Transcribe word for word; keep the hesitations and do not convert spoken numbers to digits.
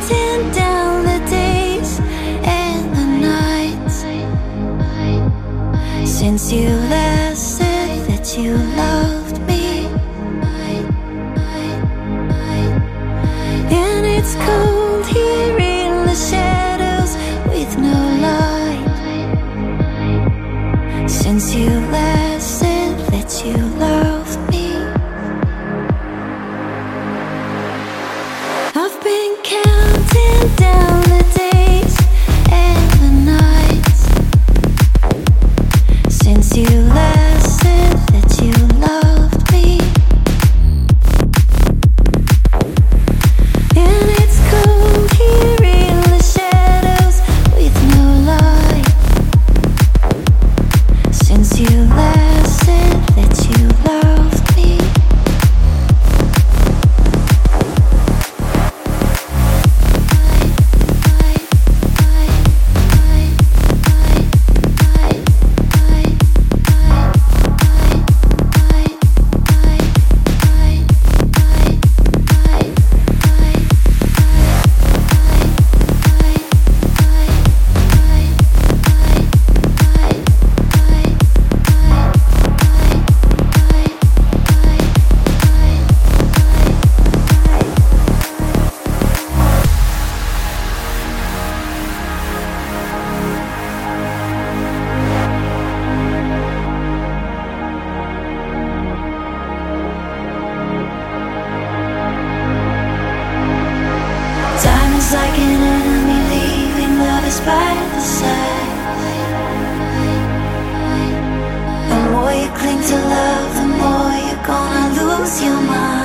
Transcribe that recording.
counting down the days and the nights since you last said that you loved me. And it's cold here in the shadows with no light since you last said that you loved me. I've been counting down the days and the nights since you last said that you loved me. And it's cold here in the shadows with no light since you last said that you loved me. Time is like an enemy leaving lovers by the side. The more you cling to love, the more you're gonna lose your mind.